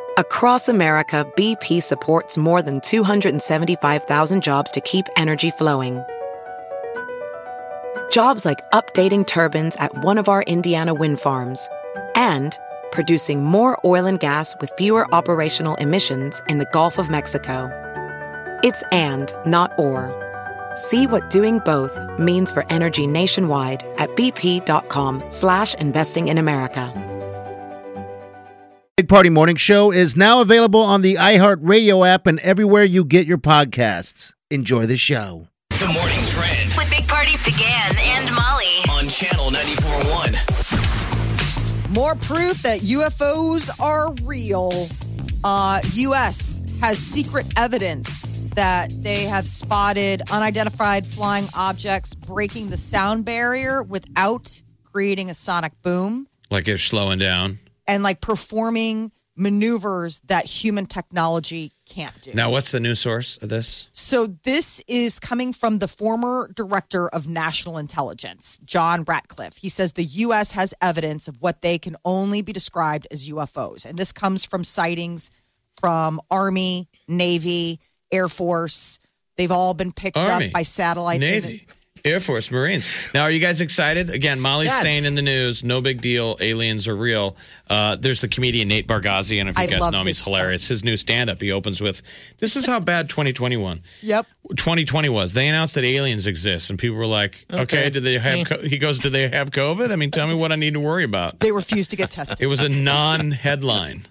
Across America, BP supports more than 275,000 jobs to keep energy flowing. Jobs like updating turbines at one of our Indiana wind farms and producing more oil and gas with fewer operational emissions in the Gulf of Mexico. It's and, not or. See what doing both means for energy nationwide at bp.com/investing in America. Big Party Morning Show is now available on the iHeartRadio app and everywhere you get your podcasts. Enjoy the show. The Morning Trend with Big Party began and Molly on Channel 94.1. More proof that UFOs are real. U.S. has secret evidence that they have spotted unidentified flying objects breaking the sound barrier without creating a sonic boom. Like they're slowing down. And like performing maneuvers that human technology can't do. Now, what's the news source of this? So this is coming from the former director of national intelligence, John Ratcliffe. He says the U.S. has evidence of what they can only be described as UFOs. And this comes from sightings from Army, Navy, Air Force. They've all been picked up by satellite. Navy, Air Force, Marines. Now, are you guys excited? Again, Molly's saying in the news, no big deal, aliens are real. There's the comedian Nate Bargatze, and if you guys know him, he's hilarious. His new stand-up, he opens with, this is how bad 2021. Yep. 2020 was. They announced that aliens exist, and people were like, okay, do they have, he goes, do they have COVID? I mean, tell me what I need to worry about. They refused to get tested. It was a non-headline.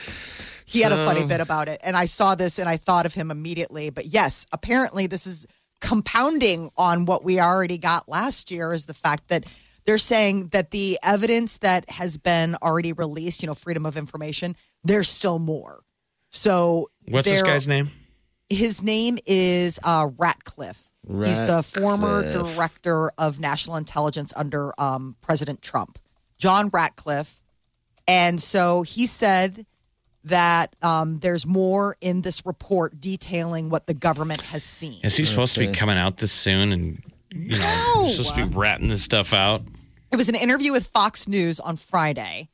He had a funny bit about it, and I saw this, and I thought of him immediately. But yes, apparently this is compounding on what we already got last year is the fact that they're saying that the evidence that has been already released, freedom of information, there's still more. So what's this guy's name? His name is Ratcliffe. He's the former director of national intelligence under President Trump, John Ratcliffe. And so he said that there's more in this report detailing what the government has seen. Is he supposed to be coming out this soon? And, supposed to be ratting this stuff out? It was an interview with Fox News on Friday.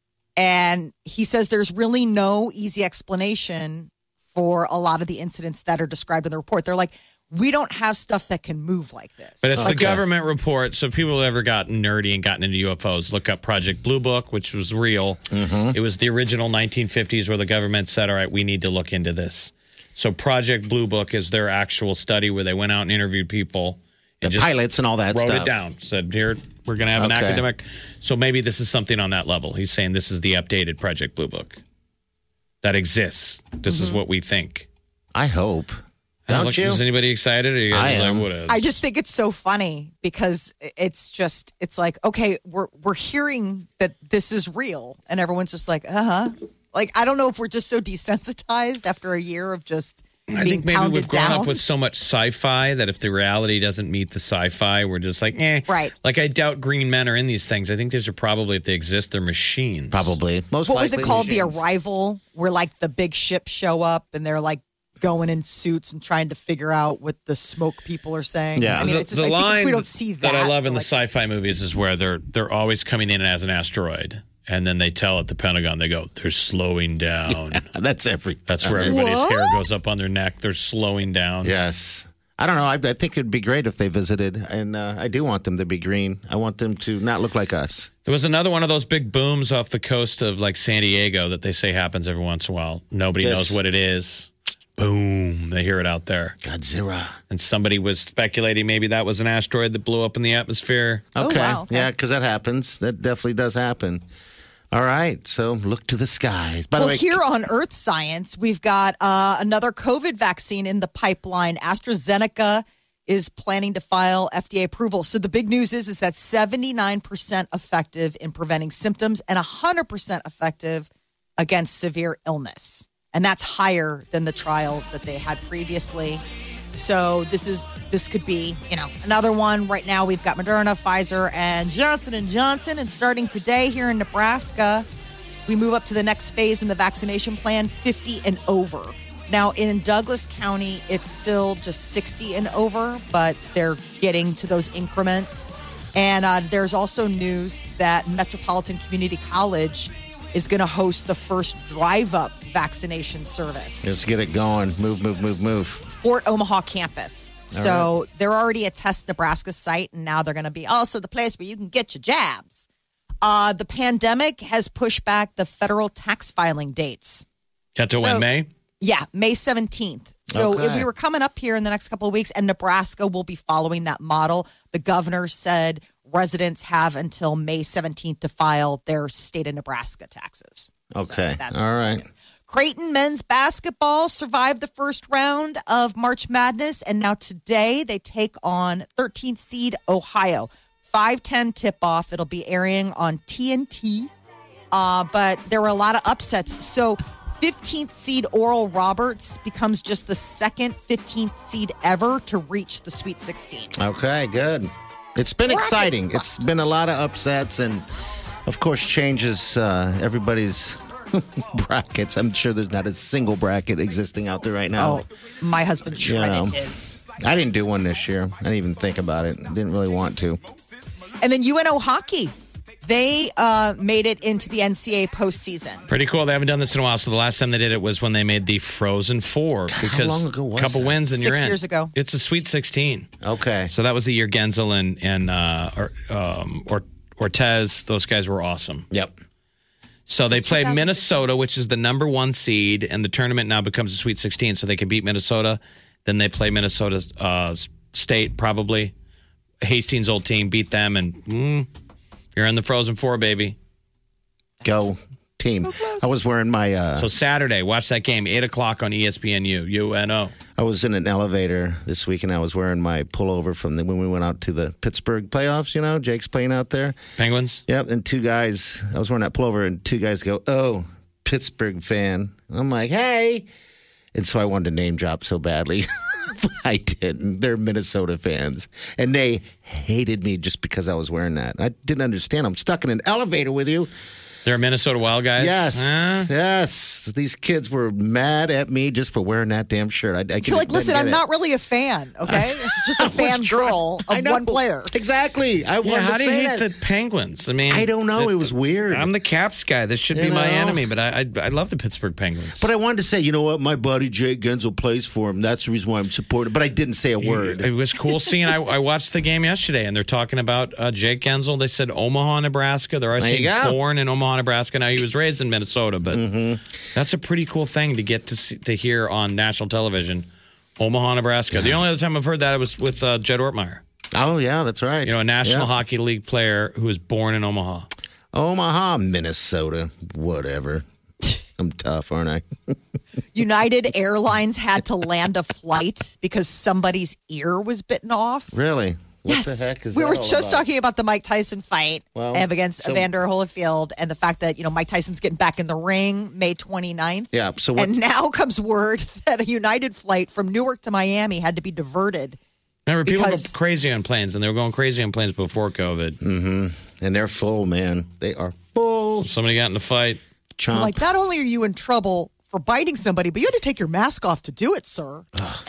And he says there's really no easy explanation for a lot of the incidents that are described in the report. They're like, we don't have stuff that can move like this. But it's the government report. So people who ever gotten nerdy and gotten into UFOs, look up Project Blue Book, which was real. Mm-hmm. It was the original 1950s where the government said, all right, we need to look into this. So Project Blue Book is their actual study where they went out and interviewed people. And the pilots and all that wrote stuff. it down. Said, here, we're going to have an academic. So maybe this is something on that level. He's saying this is the updated Project Blue Book that exists. This is what we think. I hope. Don't you? Is anybody excited? Or you guys I am. Like, what is? I just think it's so funny because it's like, okay, we're hearing that this is real, and everyone's just like, Like, I don't know if we're just so desensitized after a year of just I being think maybe pounded we've grown down. up with so much sci-fi that if the reality doesn't meet the sci-fi, we're just like, Right. Like, I doubt green men are in these things. I think these are probably, if they exist, they're machines. Probably. Most What was it likely called? machines. The Arrival, where like the big ships show up and they're like going in suits and trying to figure out what the smoke people are saying. Yeah. I mean, it's just, I think if we don't see that. I love in the like, sci-fi movies is where they're always coming in as an asteroid. And then they tell at the Pentagon, they go, they're slowing down. Yeah, that's every. That's where everybody's hair goes up on their neck. They're slowing down. Yes. I don't know. I think it'd be great if they visited. And I do want them to be green. I want them to not look like us. There was another one of those big booms off the coast of like San Diego that they say happens every once in a while. Nobody knows what it is. Boom. They hear it out there. Godzilla. And somebody was speculating maybe that was an asteroid that blew up in the atmosphere. Okay. Oh, wow. Okay. Yeah, because that happens. That definitely does happen. All right. So look to the skies. By the Well, way, here on Earth Science, we've got another COVID vaccine in the pipeline. AstraZeneca is planning to file FDA approval. So the big news is that 79% effective in preventing symptoms and 100% effective against severe illness. And that's higher than the trials that they had previously. So this could be, another one. Right now we've got Moderna, Pfizer, and Johnson & Johnson. And starting today here in Nebraska, we move up to the next phase in the vaccination plan, 50 and over. Now, in Douglas County, it's still just 60 and over, but they're getting to those increments. And there's also news that Metropolitan Community College is going to host the first drive-up vaccination service. Let's get it going. Move. Fort Omaha campus. So they're already a Test Nebraska site, and now they're going to be also the place where you can get your jabs. The pandemic has pushed back the federal tax filing dates. Got to when, May? Yeah, May 17th. So Okay. we were coming up here in the next couple of weeks, and Nebraska will be following that model. The governor said residents have until May 17th to file their state of Nebraska taxes. Okay. So that's All right. Creighton men's basketball survived the first round of March Madness, and now today they take on 13th seed Ohio. 5:10 tip-off. It'll be airing on TNT, but there were a lot of upsets. So 15th seed Oral Roberts becomes just the second 15th seed ever to reach the Sweet 16. Okay, good. It's been exciting. It's been a lot of upsets and, of course, changes everybody's brackets. I'm sure there's not a single bracket existing out there right now. Oh, my husband shredded his. I didn't do one this year. I didn't even think about it. I didn't really want to. And then UNO hockey. They made it into the NCAA postseason. Pretty cool. They haven't done this in a while. So the last time they did it was when they made the Frozen Four. Because long ago was a couple that? wins and you're in. 6 years ago. It's a Sweet 16. Okay. So that was the year Genzel and Ortez. Those guys were awesome. Yep. So they played 2015. Minnesota, which is the number 1 seed, and the tournament now becomes a Sweet 16. So they can beat Minnesota. Then they play Minnesota State, probably. Hastings' old team, beat them, and you're in the Frozen Four, baby. Go team. So close. I was wearing my So Saturday, watch that game, 8 o'clock on ESPNU, UNO. I was in an elevator this week and I was wearing my pullover from when we went out to the Pittsburgh playoffs, you know, Jake's playing out there. Penguins? Yep, and two guys, I was wearing that pullover and two guys go, "Oh, Pittsburgh fan." I'm like, "Hey." And so I wanted to name drop so badly. But I didn't. They're Minnesota fans. And they hated me just because I was wearing that. I didn't understand. I'm stuck in an elevator with you. They're Minnesota Wild guys? Yes. Huh? Yes. These kids were mad at me just for wearing that damn shirt. You're like, listen, I'm not really a fan, okay? Just a fan girl I of know. one player. Exactly. I Yeah, wanted how to do you say hate that. the Penguins? I mean, I don't know. It was weird. I'm the Caps guy. This should be You my know? enemy, but I love the Pittsburgh Penguins. But I wanted to say, you know what? My buddy Jake Genzel plays for him. That's the reason why I'm supporting. But I didn't say a word. It was cool seeing. I watched the game yesterday, and they're talking about Jake Genzel. They said Omaha, Nebraska. They're There you actually go. born in Omaha, Nebraska. Now he was raised in Minnesota, but that's a pretty cool thing to get to hear on national television. Omaha, Nebraska. The only other time I've heard that was with Jed Ortmeyer. Oh, yeah, that's right. You know, a National Yeah. Hockey League player who was born in Omaha. Omaha, Minnesota, whatever. I'm tough, aren't I? United Airlines had to land a flight because somebody's ear was bitten off. Really? What Yes. the heck is we that were all just about? talking about the Mike Tyson fight Well, against so- Evander Holyfield and the fact that, Mike Tyson's getting back in the ring May 29th. Yeah, so what? And now comes word that a United flight from Newark to Miami had to be diverted. Remember, people Because- go crazy on planes, and they were going crazy on planes before COVID. And they're full, man. They are full. Somebody got in a fight. Chomp. Like, not only are you in trouble for biting somebody, but you had to take your mask off to do it, sir.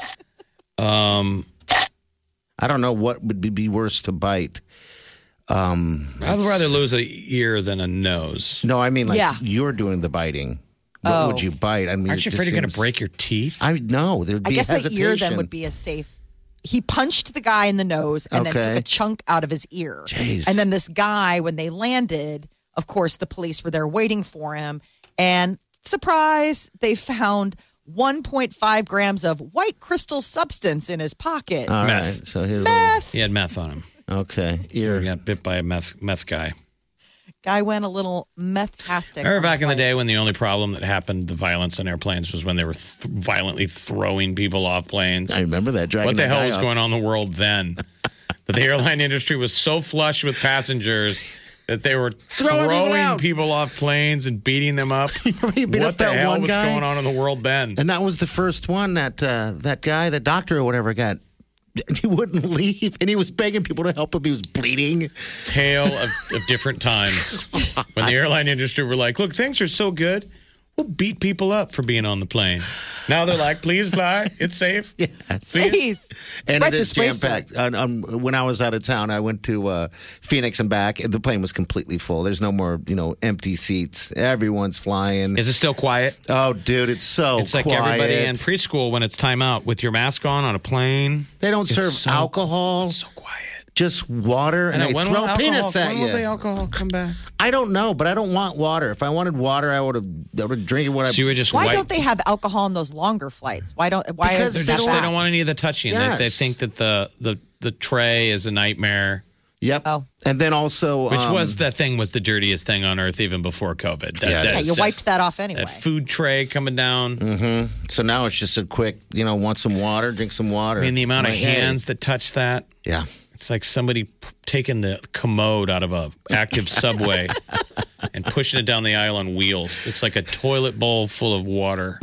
I don't know what would be worse to bite. I'd rather lose an ear than a nose. No, I mean, like, Yeah. you're doing the biting. What would you bite? I mean, Aren't you it afraid just you're going to seems- break your teeth? I know. There'd I be guess hesitation. the ear then would be a safe. He punched the guy in the nose and then Okay. took a chunk out of his ear. Jeez. And then this guy, when they landed, of course, the police were there waiting for him. And surprise, they found 1.5 grams of white crystal substance in his pocket. All right. Meth. So here's He had meth on him. okay. He Ear. got bit by a meth guy. Guy went a little meth-tastic. Remember on back in the flight. day when the only problem that happened, the violence on airplanes, was when they were violently throwing people off planes? I remember that. Dragging What the that hell guy was off. going on in the world then? That the airline industry was so flush with passengers that they were Throwing people out. people off planes and beating them up. He beat What up the that hell one was guy? going on in the world then? And that was the first one that that guy, the doctor or whatever, got. He wouldn't leave, and he was begging people to help him. He was bleeding. Tale of different times when the airline industry were like, look, things are so good. beat people up for being on the plane. Now they're like, please fly. It's safe. Yes. Please. And Right it is this way, jam packed. When I was out of town, I went to Phoenix and back, and the plane was completely full. There's no more, empty seats. Everyone's flying. Is it still quiet? Oh, dude, it's so It's like quiet. everybody in preschool when it's time out with your mask on a plane. They don't serve so- alcohol, So quiet. just water, and they when throw will peanuts at when will the you. alcohol come back? I don't know, but I don't want water. If I wanted water, I would have drinking what So you were just Why white. don't they have alcohol on those longer flights? Why Because is They that just bad? they don't want any of the touching. Yes. They think that the tray is a nightmare. Yep. Oh. And then also, Which was the dirtiest thing on earth even before COVID. Yeah, you wiped that off anyway. That food tray coming down. so now it's just a quick, want some water, drink some water. I mean, the amount of Like, hey. hands that touch that. Yeah. It's like somebody taking the commode out of a active subway and pushing it down the aisle on wheels. It's like a toilet bowl full of water.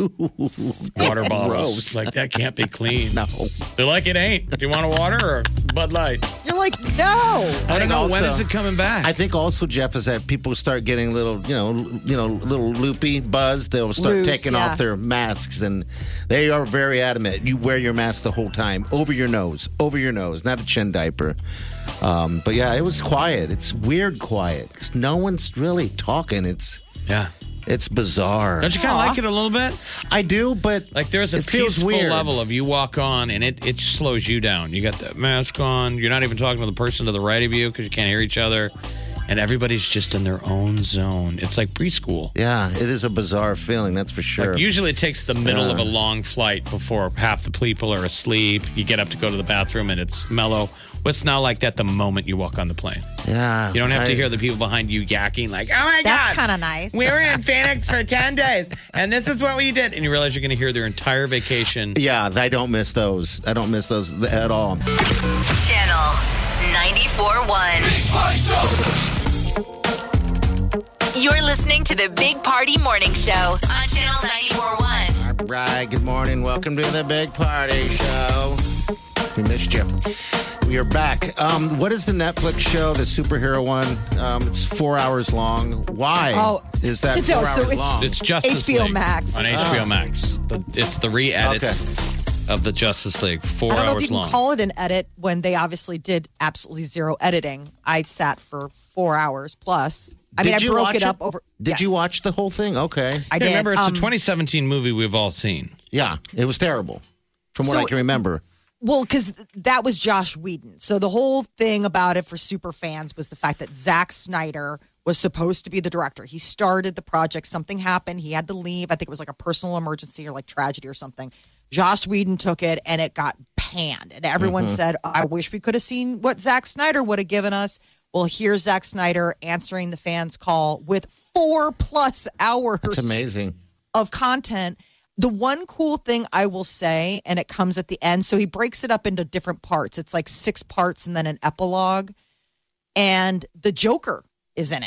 Water bottles. Gross. Like, that can't be clean. No. They're like, it ain't. Do you want a water or Bud Light? You're like, no. I don't know. also- When is it coming back? I think also, Jeff, is that people start getting little, little loopy buzz. They'll start Loose, taking yeah. off their masks, and they are very adamant. You wear your mask the whole time, over your nose, not a chin diaper. But yeah, it was quiet. It's weird quiet because no one's really talking. yeah. It's bizarre. Don't you kind of like it a little bit? I do, but Like there's a it feels peaceful weird. level of you walk on and it slows you down. You got the mask on. You're not even talking to the person to the right of you because you can't hear each other. And everybody's just in their own zone. It's like preschool. Yeah, it is a bizarre feeling. That's for sure. Like usually it takes the middle of a long flight before half the people are asleep. You get up to go to the bathroom and it's mellow. Well, it's now like that the moment you walk on the plane. Yeah, You don't have to hear the people behind you yakking like, oh my That's God. kind of nice. We were in Phoenix for 10 days, and this is what we did. And you realize you're going to hear their entire vacation. Yeah, I don't miss those. I don't miss those at all. Channel 94.1. You're listening to the Big Party Morning Show on Channel 94.1. All right, good morning. Welcome to the Big Party Show. We missed you. We are back. What is the Netflix show, the superhero one? It's 4 hours long. Why is that 4 No, hours so it's- long? It's Justice HBO League Max. on HBO Max. It's the re-edit of the Justice League. 4 I don't know if hours you can long. call it an edit when they obviously did absolutely zero editing. I sat for 4 hours plus. I Did you broke watch it up over. Did you Yes. watch the whole thing? Okay. I did. Remember, it's a 2017 movie we've all seen. Yeah, it was terrible, from what So- I can remember. Well, because that was Josh Whedon. So the whole thing about it for super fans was the fact that Zack Snyder was supposed to be the director. He started the project. Something happened. He had to leave. I think it was like a personal emergency or like tragedy or something. Josh Whedon took it and it got panned. And everyone said, I wish we could have seen what Zack Snyder would have given us. Well, here's Zack Snyder answering the fans' call with 4+ hours That's amazing. of content. The one cool thing I will say, and it comes at the end, so he breaks it up into different parts. It's like 6 parts and then an epilogue. And the Joker is in it.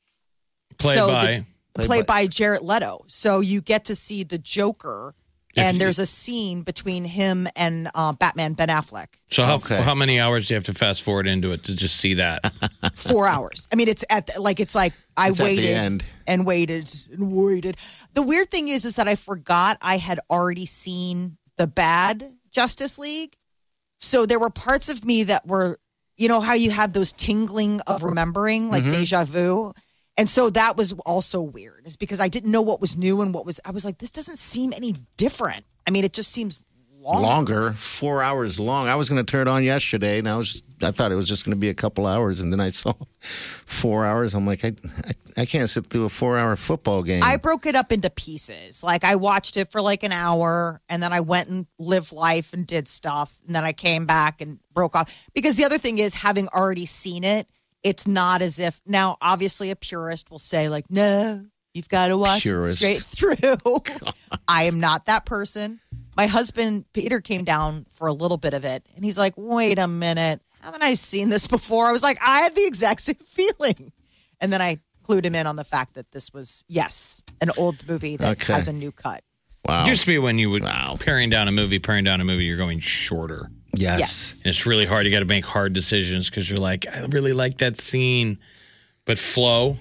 Played Played by Jared Leto. So you get to see the Joker, and there's a scene between him and Batman Ben Affleck. So Okay. how many hours do you have to fast forward into it to just see that? 4 hours. I mean, it's I It's at the waited end. and waited and waited. The weird thing is that I forgot I had already seen the bad Justice League. So there were parts of me that were, you know, how you have those tingling of remembering, like deja vu. And so that was also weird, is because I didn't know what was new and I was like, this doesn't seem any different. I mean, it just seems Longer, 4 hours long. I was going to turn it on yesterday, and I thought it was just going to be a couple hours, and then I saw 4 hours. I'm like, I can't sit through a 4 hour football game. I broke it up into pieces. Like I watched it for like an hour and then I went and lived life and did stuff. And then I came back and broke off. Because the other thing is, having already seen it, it's not as if now, obviously a purist will say like, no, you've got to watch Purist. it straight through. I am not that person. My husband, Peter, came down for a little bit of it and he's like, wait a minute. Haven't I seen this before? I was like, I had the exact same feeling. And then I clued him in on the fact that this was, yes, an old movie that Okay. has a new cut. wow. It used to be when you would paring down a movie, you're going shorter. Yes. Yes. And it's really hard. You got to make hard decisions because you're like, I really like that scene. But flow,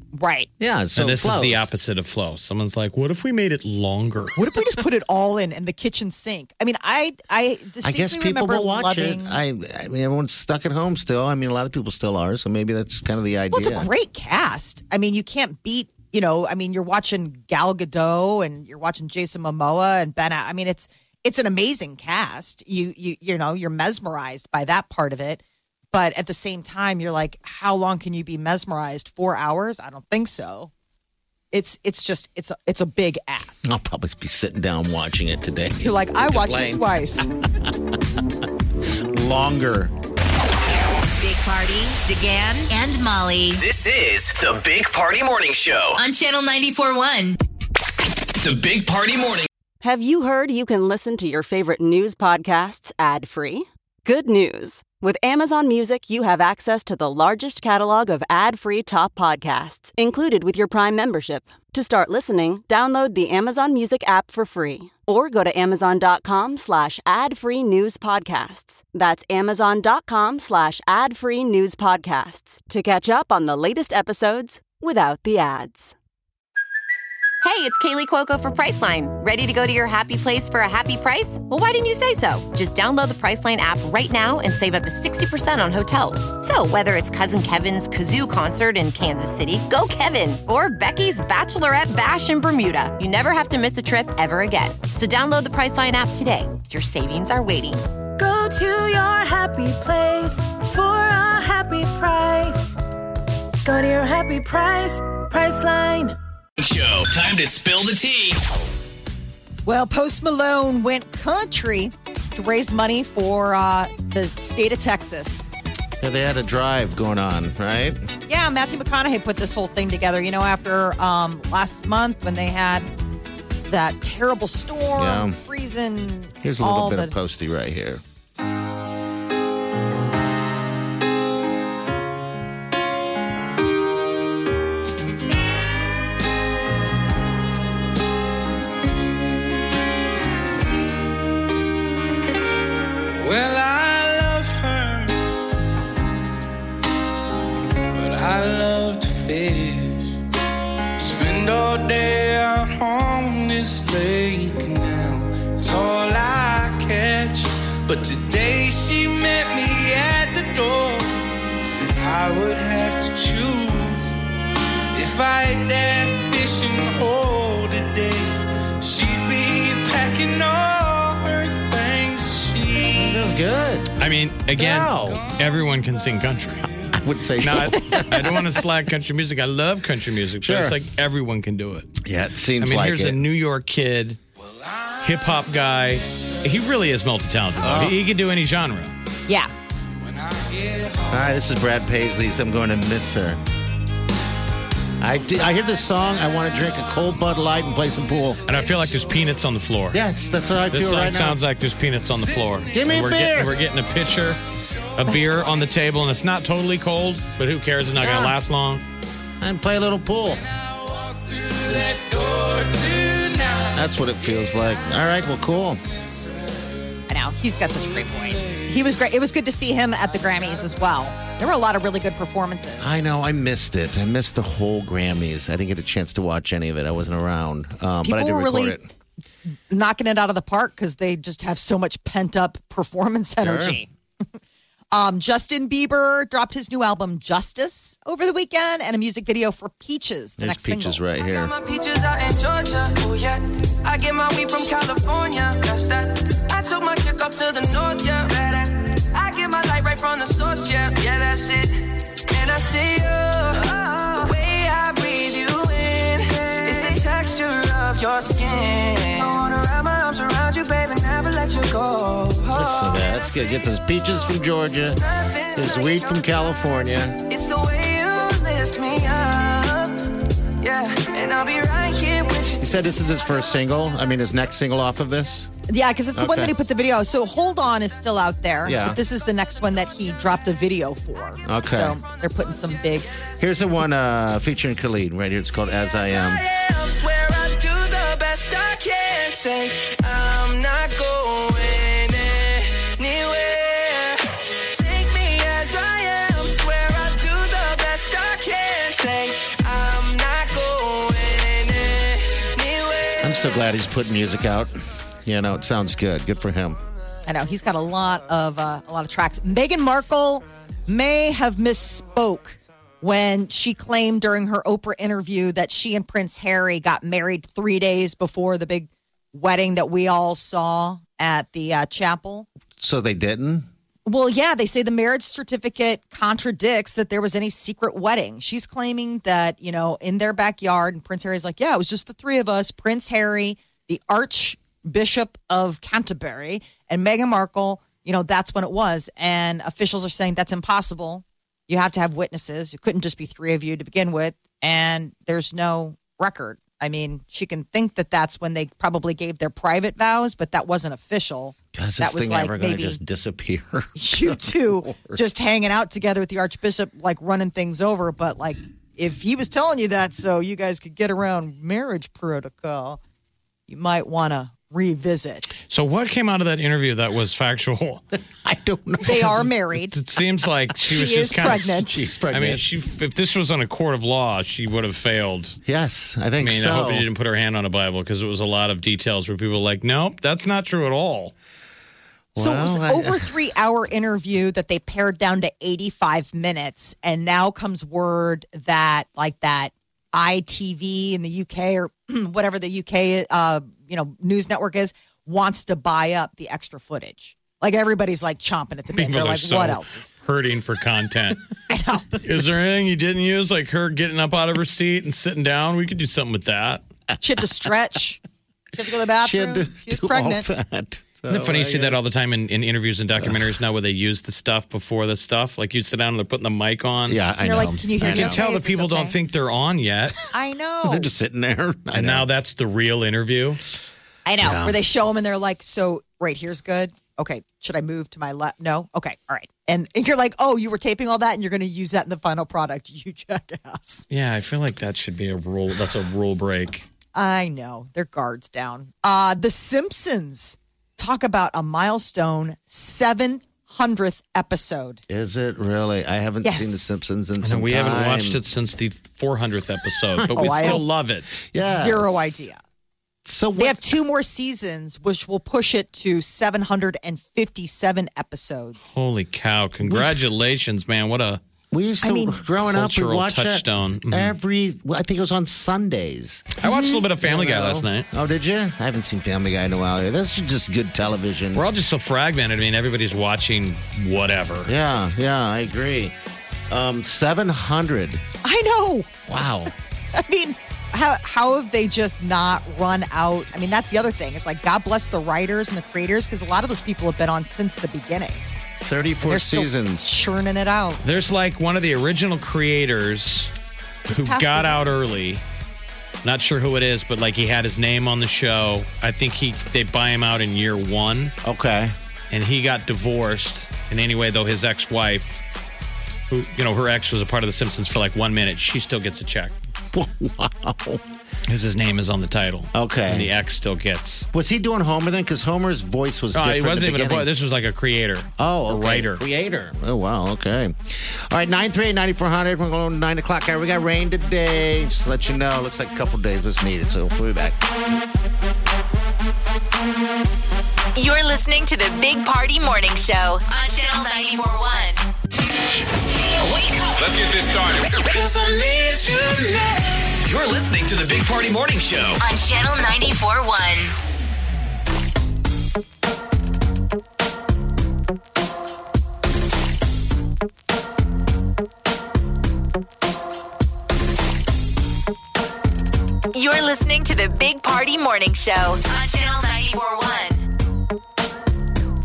Right. Yeah, so and this it is the flows. opposite of flow. Someone's like, what if we made it longer? What if we just put it all in the kitchen sink? I mean, I distinctly I guess people remember will watch loving. it. I mean, everyone's stuck at home still. I mean, a lot of people still are, so maybe that's kind of the idea. Well, it's a great cast. I mean, you can't beat. I mean, you're watching Gal Gadot and you're watching Jason Momoa and Ben. I mean, it's an amazing cast. You're mesmerized by that part of it. But at the same time, you're like, how long can you be mesmerized? 4 hours? I don't think so. It's a big ass. I'll probably be sitting down watching it today. You're like, I watched it twice. Longer. Big Party, DeGan, and Molly This is the Big Party Morning Show. on Channel 94.1. The Big Party Morning. Have you heard you can listen to your favorite news podcasts ad-free? Good news. With Amazon Music, you have access to the largest catalog of ad-free top podcasts included with your Prime membership. To start listening, download the Amazon Music app for free or go to amazon.com/ad-free news podcasts. That's amazon.com/ad-free news podcasts to catch up on the latest episodes without the ads. Hey, it's Kaylee Cuoco for Priceline. Ready to go to your happy place for a happy price? Well, why didn't you say so? Just download the Priceline app right now and save up to 60% on hotels. So whether it's Cousin Kevin's Kazoo Concert in Kansas City, go Kevin, or Becky's Bachelorette Bash in Bermuda, you never have to miss a trip ever again. So download the Priceline app today. Your savings are waiting. Go to your happy place for a happy price. Go to your happy price, Priceline. Show. Time to spill the tea. Well, Post Malone went country to raise money for the state of Texas. Yeah, they had a drive going on, right? Yeah, Matthew McConaughey put this whole thing together. After last month when they had that terrible storm, freezing. Here's a little bit of Posty right here. Well, I love her, but I love to fish. I spend all day out on this lake now. It's all I catch. But today she met me at the door. Said I would have to choose. If I ate that fishing hole today, she'd be packing all her things. Feels good. I mean, again, everyone can sing country. I would say so. I don't want to slag country music. I love country music, but it's like everyone can do it. Yeah, it seems I mean, like here's a New York kid, hip hop guy. He really is multi-talented, though. He can do any genre. Yeah. All right, this is Brad Paisley's I'm Going to Miss Her. I hear this song, I want to drink a cold Bud Light and play some pool. And I feel like there's peanuts on the floor. Yes, that's what I This feel song right now. sounds like there's peanuts on the floor. Give me And a beer. We're getting a pitcher, a beer on the table, and it's not totally cold, but who cares? It's not going to last long. And play a little pool. That's what it feels like. All right, well, cool. I know. He's got such a great voice. He was great. It was good to see him at the Grammys as well. There were a lot of really good performances. I know, I missed it. I missed the whole Grammys. I didn't get a chance to watch any of it. I wasn't around. But I did were record really it. knocking it out of the park because they just have so much pent up performance energy. Justin Bieber dropped his new album Justice over the weekend and a music video for Peaches, the There's next Peaches single. right here. My peaches out in Georgia. Oh yeah. I get my weed from California. That's that. I took my chick up to the north, yeah. I get my light right from the source, yeah. Yeah, that's it. And I see you. The way I breathe you in is the texture of your skin. I wanna wrap my arms around you, baby, never let you go. Listen to that. That's good. Gets his peaches from Georgia, his weed from California. It's the way you lift me up. Yeah, and I'll be right here with you. He said this is his first single. I mean, his next single off of this. Yeah, because it's the one Okay. that he put the video. So Hold On is still out there. Yeah. But this is the next one that he dropped a video for. Okay. So they're putting some big. Here's the one featuring Khalid right here. It's called As I Am. I swear I do the best I can. Say I'm not going anywhere. Take me as I am. Swear I do the best I can. Say I'm I'm so glad he's putting music out. You know, it sounds good. Good for him. I know he's got a lot of tracks. Meghan Markle may have misspoke when she claimed during her Oprah interview that she and Prince Harry got married 3 days before the big wedding that we all saw at the chapel. So they didn't? Well, yeah, they say the marriage certificate contradicts that there was any secret wedding. She's claiming that, in their backyard, and Prince Harry's like, yeah, it was just the three of us, Prince Harry, the Archbishop of Canterbury, and Meghan Markle, that's when it was. And officials are saying that's impossible. You have to have witnesses. It couldn't just be three of you to begin with. And there's no record. I mean, she can think that that's when they probably gave their private vows, but that wasn't official. God, is that this was thing like ever going to maybe just disappear? you two just hanging out together with the Archbishop, like running things over. But like, if he was telling you that so you guys could get around marriage protocol, you might want to revisit. So what came out of that interview that was factual? I don't know. They are married. It seems like she was She just is kind pregnant. of. She's pregnant. I mean, if this was on a court of law, she would have failed. Yes, I think so. I hope you didn't put her hand on a Bible because it was a lot of details where people were like, nope, that's not true at all. So it was an over 3 hour interview that they pared down to 85 minutes. And now comes word that that ITV in the UK or whatever the UK, news network is, wants to buy up the extra footage. Like everybody's like chomping at the bit. People They're are like, so what else is hurting for content? I know. Is there anything you didn't use, like her getting up out of her seat and sitting down? We could do something with that. She had to stretch. She had to go to the bathroom. She was do pregnant. all that. Isn't it funny you see that all the time in interviews and documentaries now where they use the stuff before the stuff? Like you sit down and they're putting the mic on. Yeah, I You're know. like, can you hear I me? You know. can tell Is that this people don't okay? think they're on yet. I know. They're just sitting there. And now that's the real interview. I know. Yeah. Where they show them and they're like, so, right, here's good. Okay, should I move to my left? No? Okay, all right. And you're like, oh, you were taping all that and you're going to use that in the final product. You jackass. Yeah, I feel like that should be a rule. That's a rule break. I know. Their guards down. The Simpsons talk about a milestone 700th episode. Is it really? I haven't Yes. seen The Simpsons in And some we time. haven't watched it since the 400th episode, but we I still have- love it. Yeah. Zero idea. So They have 2 more seasons, which will push it to 757 episodes. Holy cow. Congratulations, man. What a we used to, I mean, growing up, we cultural watched touchdown. that every, I think it was on Sundays. I watched a little bit of Family Guy last night. Oh, did you? I haven't seen Family Guy in a while. That's just good television. We're all just so fragmented. I mean, everybody's watching whatever. Yeah, I agree. 700. I know. Wow. I mean, how have they just not run out? I mean, that's the other thing. It's like, God bless the writers and the creators, because a lot of those people have been on since the beginning. 34 They're still seasons. churning it out. There's like one of the original creators who passed got away. out early. Not sure who it is, but like he had his name on the show. I think they buy him out in year 1. Okay. And he got divorced. And anyway, though, his ex-wife, who, her ex was a part of The Simpsons for like 1 minute, she still gets a check. Wow. Because his name is on the title. Okay. And the ex still gets. Was he doing Homer then? Because Homer's voice was different. He wasn't at the even a beginning. boy. This was like a creator. Oh, a okay. writer. Creator. Oh, wow. Okay. All right, 938-9400. We're going to 9 o'clock. All right, we got rain today. Just to let you know, looks like a couple days was needed. So we'll be back. You're listening to the Big Party Morning Show on Channel 94.1. Wake up. Let's get this started. You're listening to the Big Party Morning Show On Channel 94.1. You're listening to the Big Party Morning Show on Channel 94.1.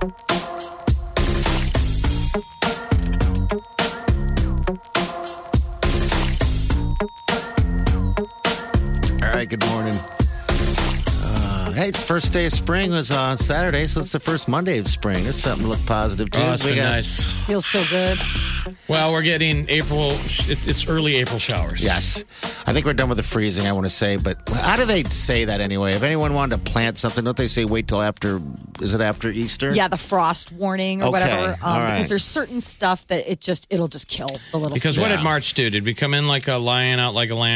All right, good morning. Hey, it's first day of spring. It was on Saturday, so it's the first Monday of spring. It's something to look positive to. Oh, it's been nice. Feels so good. Well, we're getting April. It's early April showers. Yes. I think we're done with the freezing, I want to say. But how do they say that anyway? If anyone wanted to plant something, don't they say wait till after, is it after Easter? Yeah, the frost warning or Okay, whatever. all right. Because there's certain stuff that it'll just kill the little Because what seeds. did March do? Did we come in like a lion, out like a lamb?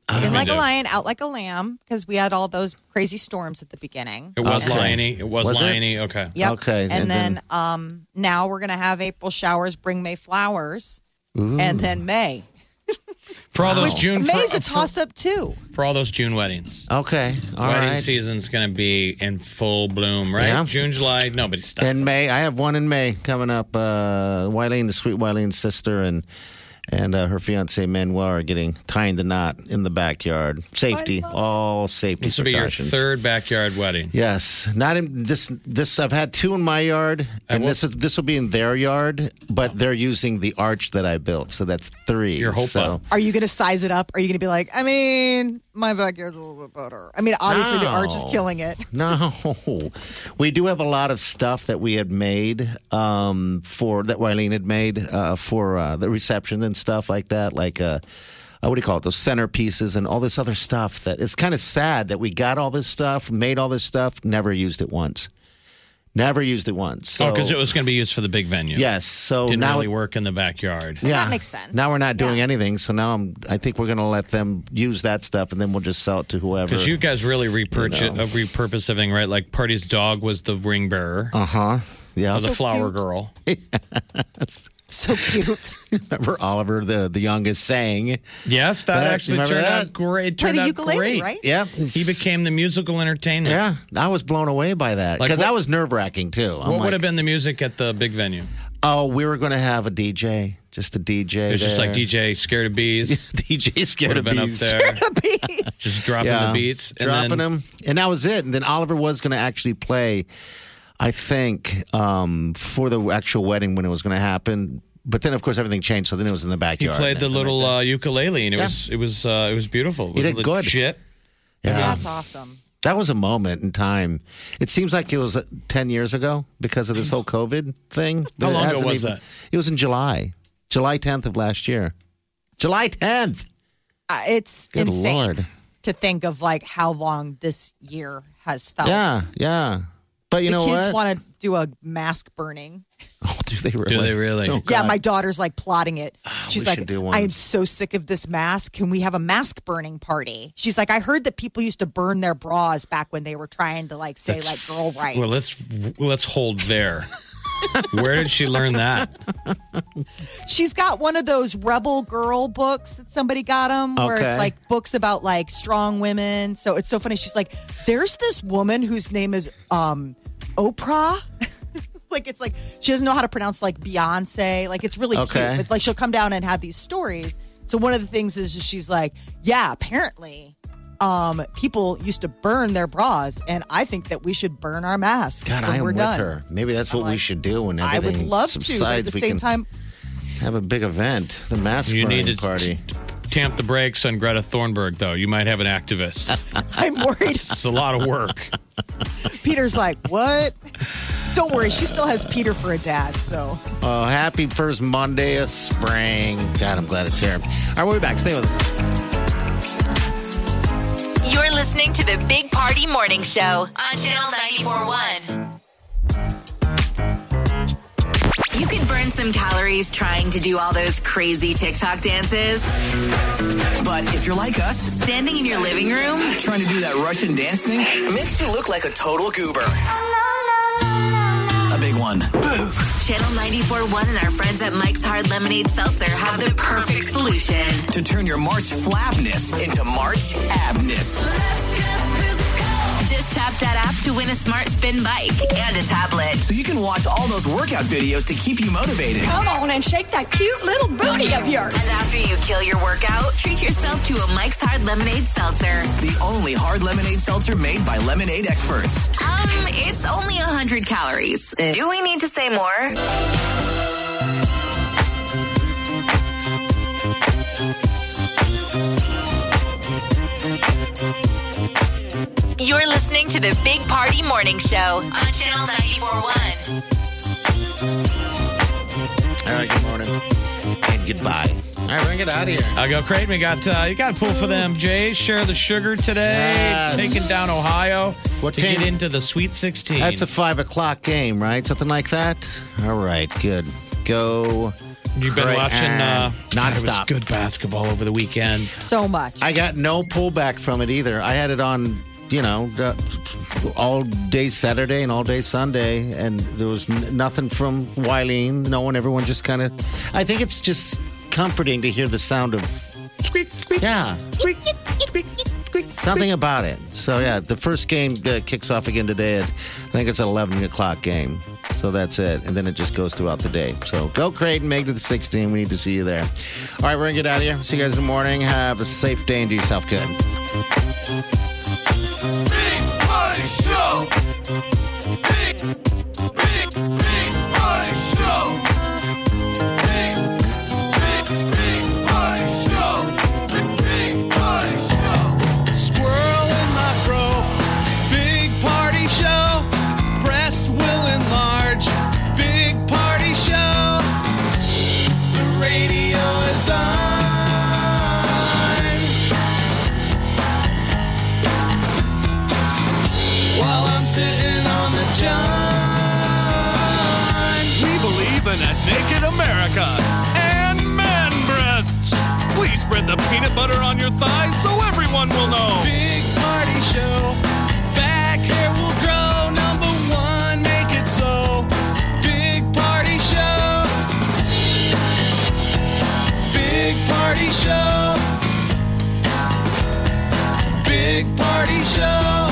In like a lion, out like a lamb, because we had all those crazy storms at the beginning. It was Okay. liony. It was, Was it? liony. Okay. Yep. Okay, And and then now we're going to have April showers bring May flowers. And then May. For all those June May's a for, toss-up, too. for all those June weddings. Okay. All Wedding right. season's going to be in full bloom, right? Yeah. June, July, nobody stopped. In May, I have one in May coming up. Wileen, the sweet Wileen's sister, and her fiance Manuel are getting tying the knot in the backyard. Safety, all safety This will be your precautions. third backyard wedding. Yes, not in this. I've had two in my yard, and this will be in their yard, but they're using the arch that I built, so that's three. Your hope so. up. Are you going to size it up? Are you going to be like, I mean, my backyard's a little bit better? I mean, obviously the arch is killing it. No, we do have a lot of stuff that we had made for that Wileen had made for the reception and stuff like that, like what do you call it? Those centerpieces and all this other stuff. That it's kind of sad that we got all this stuff, made all this stuff, never used it once. Never used it once. So, because it was going to be used for the big venue. yes. So Didn't now really work in the backyard. Yeah, That makes sense. Now we're not doing Yeah. anything, so now I think we're going to let them use that stuff, and then we'll just sell it to whoever. Because you guys really repurpose everything, right? Like Party's dog was the ring bearer. Yeah. The So flower cute. girl. So cute. Remember Oliver, the youngest, sang. Yes, that That- actually remember turned that? out great. It Played turned a out ukulele, great. right? Yeah. He became the musical entertainment. Yeah, I was blown away by that Like because what- that was nerve wracking too. What would have been the music at the big venue? Oh, we were going to have a DJ, just a DJ. It was just there. like DJ Scared of Bees. DJ scared Would of have been bees. up there, just dropping the beats, and dropping then them, and that was it. And then Oliver was going to actually play, I think, for the actual wedding when it was going to happen. But then, of course, everything changed. So then it was in the he backyard. played the and everything little like ukulele, and it was beautiful. It He was did good. legit. that. Yeah. That's awesome. That was a moment in time. It seems like it was 10 years ago because of this whole COVID thing. How It long ago hasn't was that? It was in July 10th of last year. July 10th. It's Good insane Lord. to think of like how long this year has felt. Yeah. But you the know kids what? want to do a mask burning. Oh, do they really? Do they really? Oh, Yeah, God. my daughter's like plotting it. She's we like, should do one. I am so sick of this mask. Can we have a mask burning party? She's like, I heard that people used to burn their bras back when they were trying to like say like girl rights. Well, let's hold there. Where did she learn that? She's got one of those rebel girl books that somebody got them where Okay. it's like books about like strong women. So it's so funny. She's like, there's this woman whose name is Oprah. Like it's like she doesn't know how to pronounce like Beyonce. Like it's really Okay. cute. But like she'll come down and have these stories. So one of the things is just she's like, yeah, apparently people used to burn their bras, and I think that we should burn our masks God, when I am we're with done. her. Maybe that's what we should do when I everything would love to, but at subsides. the We same can time, have a big event, the mask You burning need to party. tamp the brakes on Greta Thunberg, though. You might have an activist. I'm worried. It's a lot of work. Peter's like, what? Don't worry, she still has Peter for a dad, so. Oh, happy first Monday of spring. God, I'm glad it's here. All right, we'll be back. Stay with us. You're listening to the Big Party Morning Show on Channel 94.1. You could burn some calories trying to do all those crazy TikTok dances. But if you're like us, Standing in your living room, trying to do that Russian dance thing makes you look like a total goober. A big one. Channel 94.1 and our friends at Mike's Hard Lemonade Seltzer have the perfect solution. To turn your March flabness into March abness. Just tap that app to win a smart spin bike and a tablet. So you can watch all those workout videos to keep you motivated. Come on and shake that cute little booty of yours. And after you kill your workout, treat yourself to a Mike's Hard Lemonade Seltzer. The only hard lemonade seltzer made by lemonade experts. It's only 100 calories. Do we need to say more? You're listening to the Big Party Morning Show on Channel 94.1. All right, good morning. And goodbye. All right, we're going to get out of here. I'll go, Creighton. We got you got to pull for them, Jay. Share the sugar today. Yes. Taking down Ohio What to team? get into the Sweet 16. That's a 5 o'clock game, right? Something like that? All right, good. Go You've been watching nonstop. It was good basketball over the weekend. So much. I got no pullback from it either. I had it on, all day Saturday and all day Sunday, and there was nothing from Wileen. No one, everyone just kind of. I think it's just comforting to hear the sound of squeak, squeak. Yeah, squeak, squeak, squeak. Something about it. So yeah, the first game kicks off again today. I think it's an 11 o'clock game. So that's it. And then it just goes throughout the day. So go Creighton, make it to the 16. We need to see you there. All right, we're going to get out of here. See you guys in the morning. Have a safe day and do yourself good. Big Party Show. Big Party Show. Big Party Show. Big Party Show. Squirrel in my fro. Big Party Show. Breast will enlarge. Big Party Show. The radio is on. While I'm sitting on the john. We believe in a naked America and man breasts. Please spread the peanut butter on your thighs so everyone will know. Big Party Show. Back hair will grow. Number one, make it so. Big Party Show. Big Party Show. Big Party Show.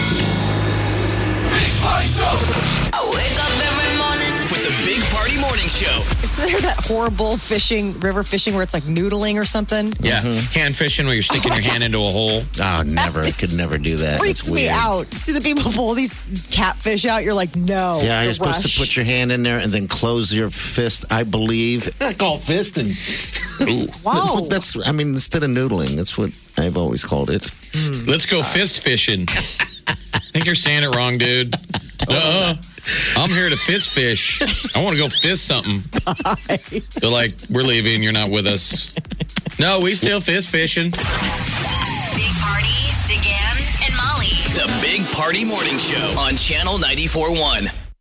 Big Party Show. I wake up every morning With the Big Party Morning Show. Is there that horrible river fishing where it's like noodling or something? Yeah, hand fishing where you're sticking your hand into a hole. Oh, never. I could never do that. Freaks It's me weird. out. See the people pull these catfish out. You're like, no. Yeah, you're the supposed rush. to put your hand in there and then close your fist, I believe. I call fisting. Wow. Instead of noodling, that's what I've always called it. Let's go fist fishing. I think you're saying it wrong, dude. I'm here to fist fish. I want to go fist something. They're like, we're leaving. You're not with us. No, we still fist fishing. Big Party, DeGan, and Molly. The Big Party Morning Show on Channel 94.1.